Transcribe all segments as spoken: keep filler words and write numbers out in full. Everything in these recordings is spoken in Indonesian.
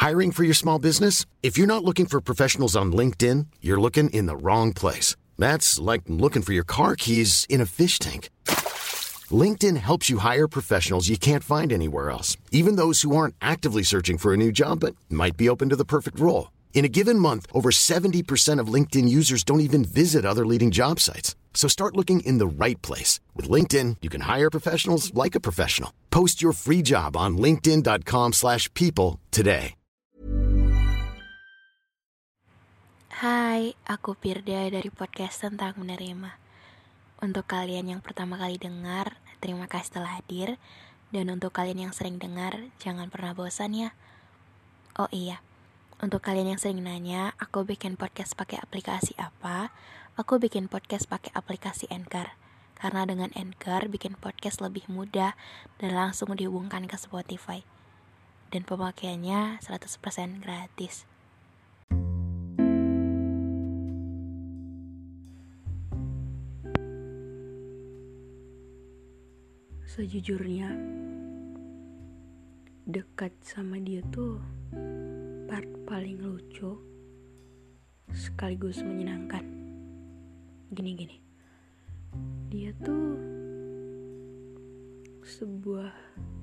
Hiring for your small business? If you're not looking for professionals on LinkedIn, you're looking in the wrong place. That's like looking for your car keys in a fish tank. LinkedIn helps you hire professionals you can't find anywhere else, even those who aren't actively searching for a new job but might be open to the perfect role. In a given month, over seventy percent of LinkedIn users don't even visit other leading job sites. So start looking in the right place. With LinkedIn, you can hire professionals like a professional. Post your free job on linkedin.com slash people today. Hai, aku Firda dari podcast Tentang Menerima. Untuk kalian yang pertama kali dengar, terima kasih telah hadir. Dan untuk kalian yang sering dengar, jangan pernah bosan ya. Oh iya, untuk kalian yang sering nanya, aku bikin podcast pakai aplikasi apa? Aku bikin podcast pakai aplikasi Anchor. Karena dengan Anchor bikin podcast lebih mudah dan langsung dihubungkan ke Spotify. Dan pemakaiannya seratus persen gratis. Sejujurnya, dekat sama dia tuh part paling lucu sekaligus menyenangkan. Gini-gini, dia tuh sebuah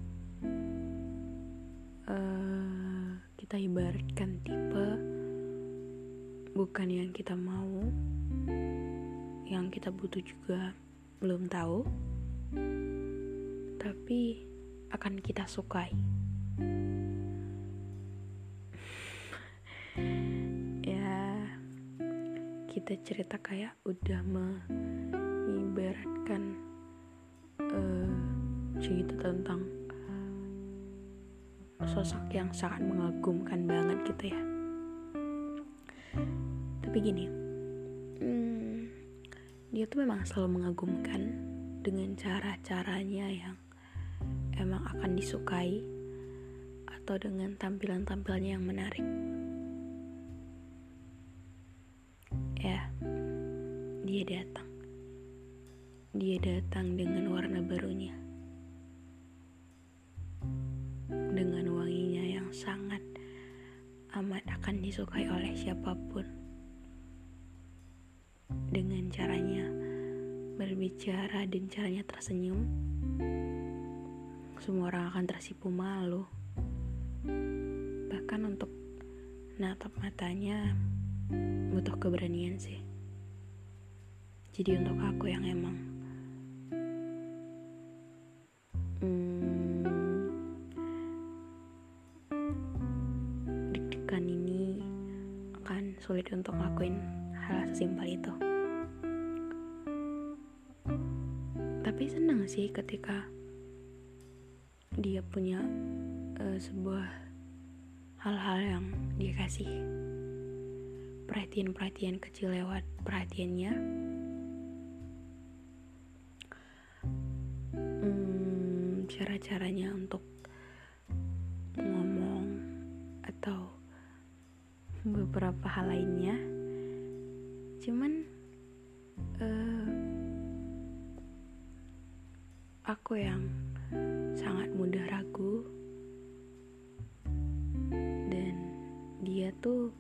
uh, kita ibaratkan tipe bukan yang kita mau, yang kita butuh juga belum tahu, tapi akan kita sukai. Ya, kita cerita kayak udah mengibaratkan uh, cerita tentang sosok yang sangat mengagumkan banget gitu ya. Tapi gini, hmm, dia tuh memang selalu mengagumkan dengan cara-caranya yang emang akan disukai atau dengan tampilan-tampilannya yang menarik. Ya, dia datang. Dia datang dengan warna barunya. Dengan wanginya yang sangat amat akan disukai oleh siapapun. Dengan caranya berbicara dan caranya tersenyum, semua orang akan tersipu malu. Bahkan untuk natap matanya butuh keberanian sih. Jadi untuk aku yang emang hmm, deg-degan ini akan sulit untuk ngelakuin hal sesimpel itu. Tapi senang sih ketika dia punya uh, sebuah hal-hal yang dia kasih, perhatian-perhatian kecil lewat perhatiannya, hmm, cara-caranya untuk ngomong atau beberapa hal lainnya. Cuman uh, aku yang sangat mudah ragu, dan dia tuh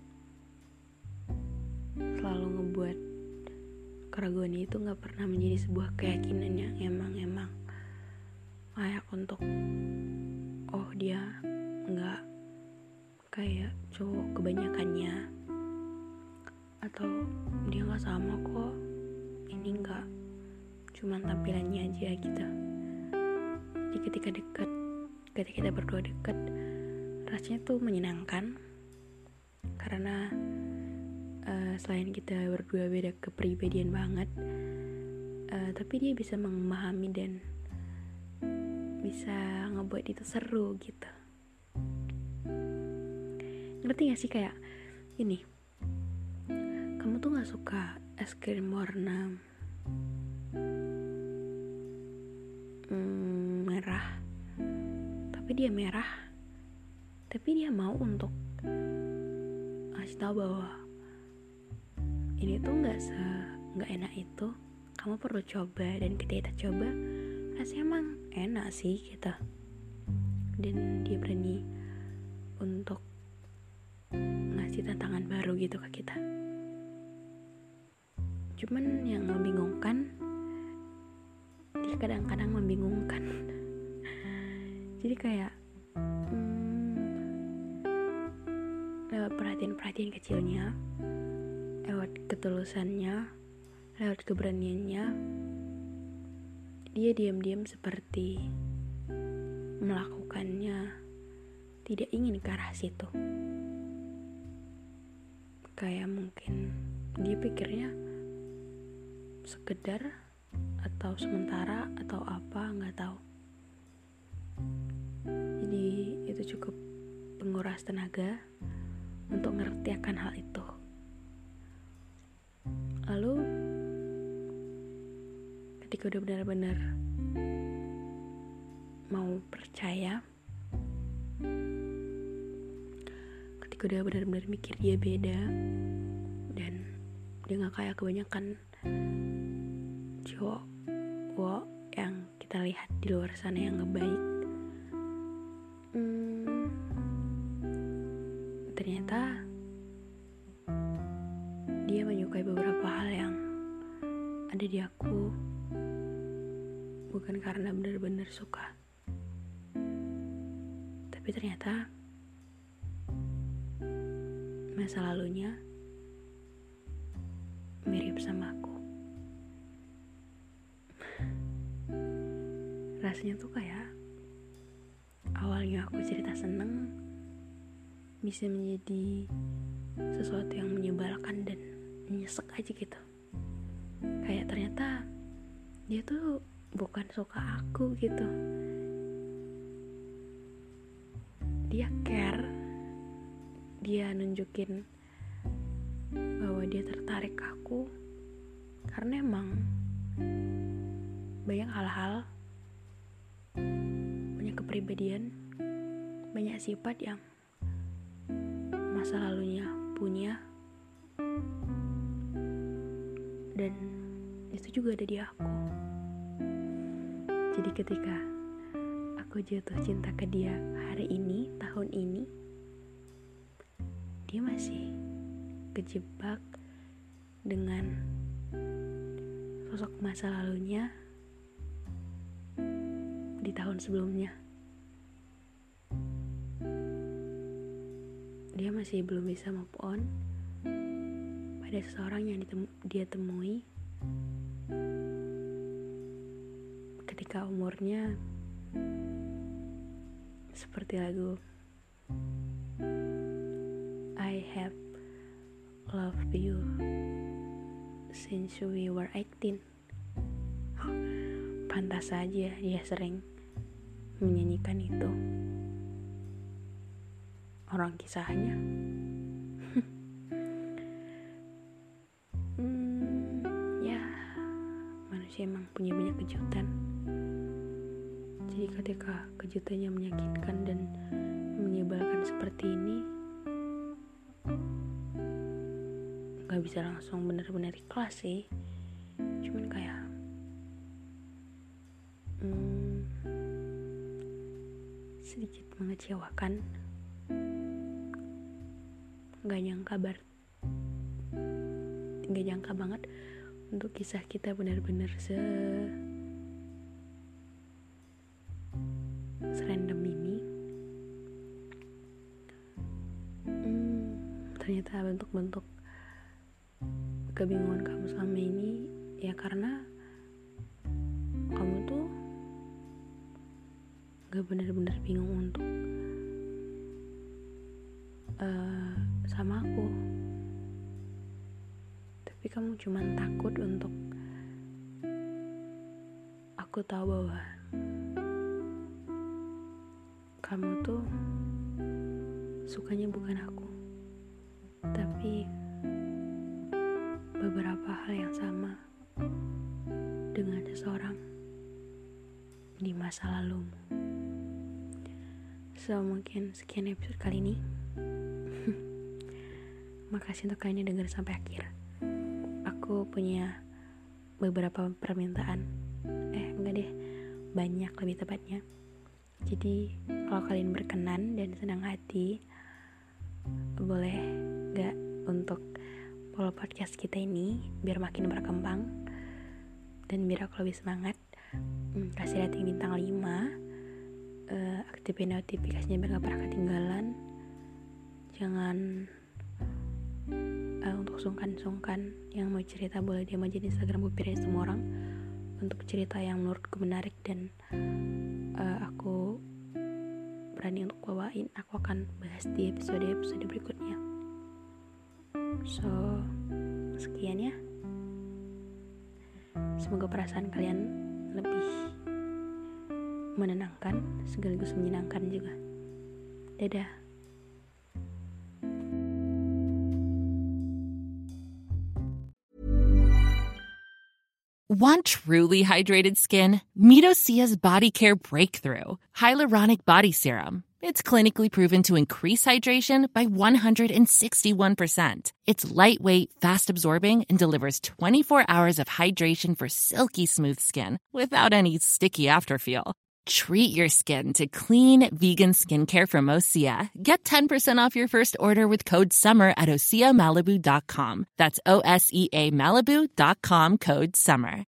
selalu ngebuat keraguan itu gak pernah menjadi sebuah keyakinan yang emang-emang layak untuk oh dia gak kayak cowok kebanyakannya, atau dia gak sama kok, ini gak cuman tampilannya aja gitu. Jadi ketika dekat, ketika kita berdua dekat, rasanya tuh menyenangkan. Karena uh, selain kita berdua beda kepribadian banget, uh, tapi dia bisa memahami dan bisa ngebuat itu seru gitu. Ngerti gak sih kayak ini, kamu tuh gak suka es krim warna hmm, merah, tapi dia merah, tapi dia mau untuk ngasih tahu bahwa ini tuh nggak se nggak enak itu, kamu perlu coba. Dan ketika kita coba, rasanya emang enak sih kita. Dan dia berani untuk ngasih tantangan baru gitu ke kita. Cuman yang membingungkan, dia kadang-kadang membingungkan. Jadi kayak hmm, lewat perhatian-perhatian kecilnya, lewat ketulusannya, lewat keberaniannya, dia diam-diam seperti melakukannya tidak ingin ke arah situ. Kayak mungkin dia pikirnya sekedar atau sementara atau apa, nggak tahu. Jadi itu cukup menguras tenaga untuk ngerti akan hal itu. Lalu ketika udah benar-benar mau percaya, ketika udah benar-benar mikir dia beda dan dia gak kayak kebanyakan cowok cowok yang kita lihat di luar sana yang ngebaik, hmm, ternyata dia menyukai beberapa hal yang ada di aku, bukan karena benar-benar suka, tapi ternyata masa lalunya mirip sama aku. Rasanya tuh kayak awalnya aku cerita seneng bisa menjadi sesuatu yang menyebalkan dan nyesek aja gitu. Kayak ternyata dia tuh bukan suka aku gitu. Dia care, dia nunjukin bahwa dia tertarik ke aku karena emang banyak hal-hal, banyak kepribadian, banyak sifat yang masa lalunya punya, dan itu juga ada di aku. Jadi ketika aku jatuh cinta ke dia hari ini, tahun ini, dia masih kejebak dengan sosok masa lalunya di tahun sebelumnya. Dia masih belum bisa move on pada seseorang yang ditemu- dia temui ketika umurnya seperti lagu I have loved you since we were eighteen. Pantas saja dia sering menyanyikan itu. Orang kisahnya hmm, ya manusia emang punya banyak kejutan. Jadi ketika kejutannya menyakitkan dan menyebalkan seperti ini, gak bisa langsung benar-benar ikhlas sih. Cuman kayak hmm, sedikit mengecewakan. Gak nyangka bar Gak nyangka banget untuk kisah kita benar-benar se serandom ini. hmm, Ternyata bentuk-bentuk kebingungan kamu selama ini ya karena kamu tuh gak benar-benar bingung untuk uh, sama aku, tapi kamu cuma takut untuk aku tahu bahwa kamu tuh sukanya bukan aku, tapi beberapa hal yang sama dengan seseorang di masa lalumu. So mungkin sekian episode kali ini. Makasih untuk kalian yang denger sampai akhir. Aku punya beberapa permintaan. Eh enggak deh, banyak lebih tepatnya. Jadi kalau kalian berkenan dan senang hati, boleh kalau podcast kita ini biar makin berkembang dan biar aku lebih semangat, hmm, kasih rating bintang lima, uh, aktifin notifikasinya biar gak pernah ketinggalan. Jangan uh, untuk sungkan-sungkan yang mau cerita boleh D M aja di Instagram Bupir semua orang untuk cerita yang menurutku menarik dan uh, aku berani untuk bawain. Aku akan bahas di episode-episode berikutnya. So, sekian ya. Semoga perasaan kalian lebih menenangkan sekaligus menyenangkan juga. Dadah. Want truly hydrated skin? Meet Osea's Body Care Breakthrough Hyaluronic Body Serum. It's clinically proven to increase hydration by one hundred sixty-one percent. It's lightweight, fast-absorbing, and delivers twenty-four hours of hydration for silky smooth skin without any sticky afterfeel. Treat your skin to clean, vegan skincare from Osea. Get ten percent off your first order with code SUMMER at osea malibu dot com. That's O S E A Malibu dot com, code SUMMER.